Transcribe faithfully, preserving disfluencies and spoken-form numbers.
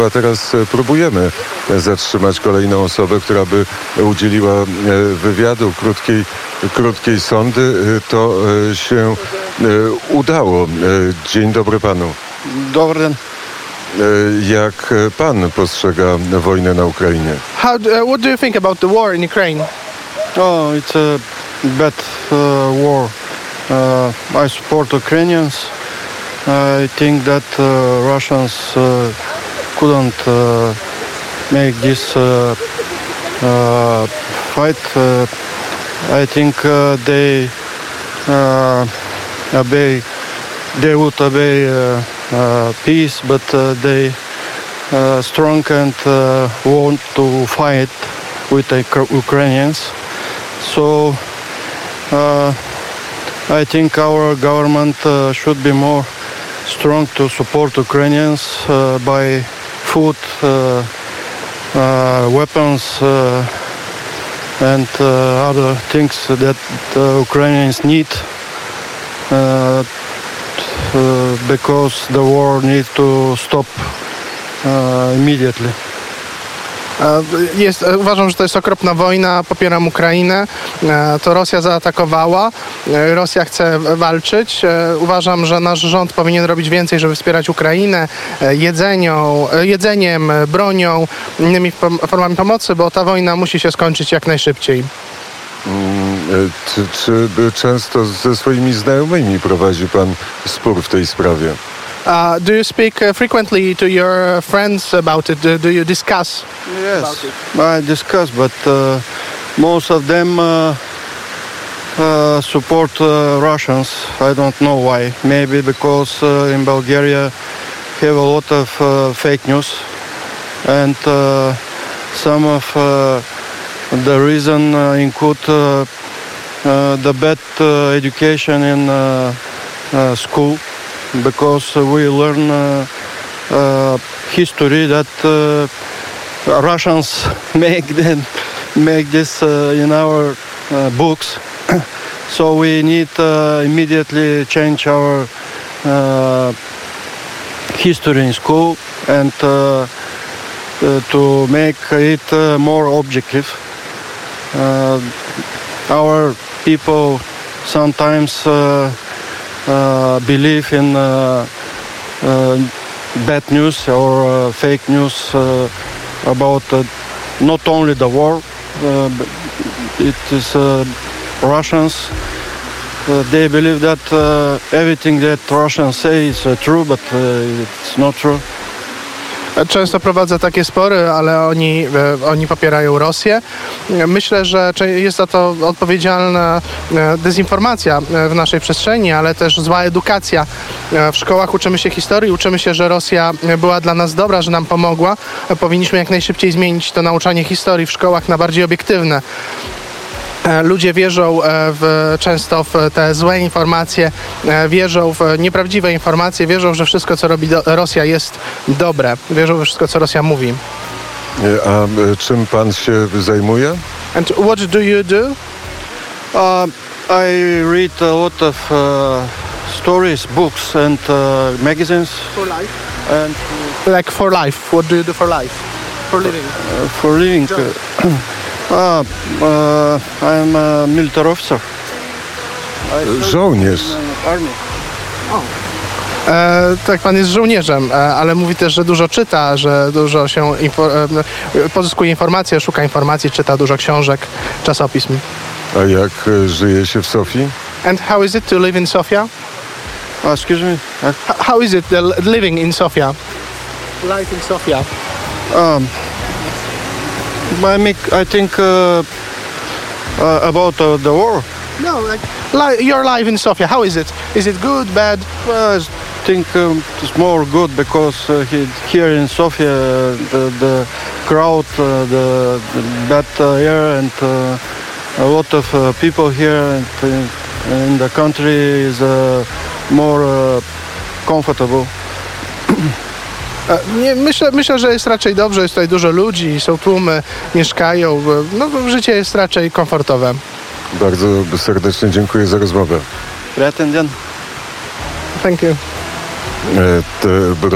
A teraz próbujemy zatrzymać kolejną osobę, która by udzieliła wywiadu, krótkiej, krótkiej sondy. To się udało. Dzień dobry panu. Dobry dzień. Jak pan postrzega wojnę na Ukrainie? How? Uh, what do you think about the war in Ukraine? Oh, it's a bad uh, war. Uh, I support Ukrainians. I think that uh, Russians uh, couldn't uh, make this uh, uh, fight. Uh, I think uh, they uh, obey. They would obey uh, uh, peace, but uh, they uh, strong and uh, want to fight with the Ukrainians. So uh, I think our government uh, should be more strong to support Ukrainians uh, by food, uh, uh, weapons, uh, and uh, other things that uh, Ukrainians need. Uh, Uh, because the war needs to stop uh, immediately. Jest, uważam, że to jest okropna wojna, popieram Ukrainę. To Rosja zaatakowała, Rosja chce walczyć. Uważam, że nasz rząd powinien robić więcej, żeby wspierać Ukrainę jedzenią, jedzeniem, bronią, innymi formami pomocy, bo ta wojna musi się skończyć jak najszybciej. Czy, czy często ze swoimi znajomymi prowadzi pan spór w tej sprawie? Uh, do you speak uh, frequently to your friends about it? Do, do you discuss? Yes, about it? I discuss, but uh, most of them uh, uh, support uh, Russians. I don't know why. Maybe because uh, in Bulgaria have a lot of uh, fake news, and uh, some of uh, the reason uh, include uh, uh, the bad uh, education in uh, uh, school, because we learn uh, uh, history that uh, Russians make them make this uh, in our uh, books. So we need uh, immediately change our uh, history in school and uh, uh, to make it uh, more objective. Uh, our people sometimes uh, uh, believe in uh, uh, bad news or uh, fake news uh, about uh, not only the war, uh, but it is uh, Russians. Uh, they believe that uh, everything that Russians say is uh, true, but uh, it's not true. Często prowadzę takie spory, ale oni, oni popierają Rosję. Myślę, że jest za to odpowiedzialna dezinformacja w naszej przestrzeni, ale też zła edukacja. W szkołach uczymy się historii, uczymy się, że Rosja była dla nas dobra, że nam pomogła. Powinniśmy jak najszybciej zmienić to nauczanie historii w szkołach na bardziej obiektywne. Ludzie wierzą w, często w te złe informacje, wierzą w nieprawdziwe informacje, wierzą, że wszystko, co robi do, Rosja, jest dobre. Wierzą we wszystko, co Rosja mówi. A czym pan się zajmuje? And what do you do? Uh, I read a lot of uh, stories, books and uh, magazines. For life. And Like for life. What do you do for life? For living. uh, for living. Uh, uh, uh, I'm a military officer. Żołnierz. Army. E, tak, pan jest żołnierzem, e, ale mówi też, że dużo czyta, że dużo się info, e, pozyskuje informacje, szuka informacji, czyta dużo książek, czasopism. A jak żyje się w Sofii? And how is it to live in Sofia? Uh, excuse me. Uh, H- how is it the l- living in Sofia? Life in Sofia. Um, I make. I think uh, uh, about uh, the war. No, like li- your life in Sofia. How is it? Is it good, bad? Well, I think um, it's more good because uh, he, here in Sofia uh, the, the crowd, uh, the, the bad uh, air, and uh, a lot of uh, people here and, uh, in the country is uh, more uh, comfortable. E, Nie, myślę, myślę, że jest raczej dobrze. Jest tutaj dużo ludzi, są tłumy, mieszkają. e, No, życie jest raczej komfortowe. Bardzo serdecznie dziękuję za rozmowę. Prieten dzień. Thank you. E, te-